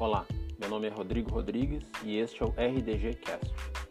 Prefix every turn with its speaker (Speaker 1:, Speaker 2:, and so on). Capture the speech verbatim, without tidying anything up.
Speaker 1: Olá, meu nome é Rodrigo Rodrigues e este é o R D G Cast.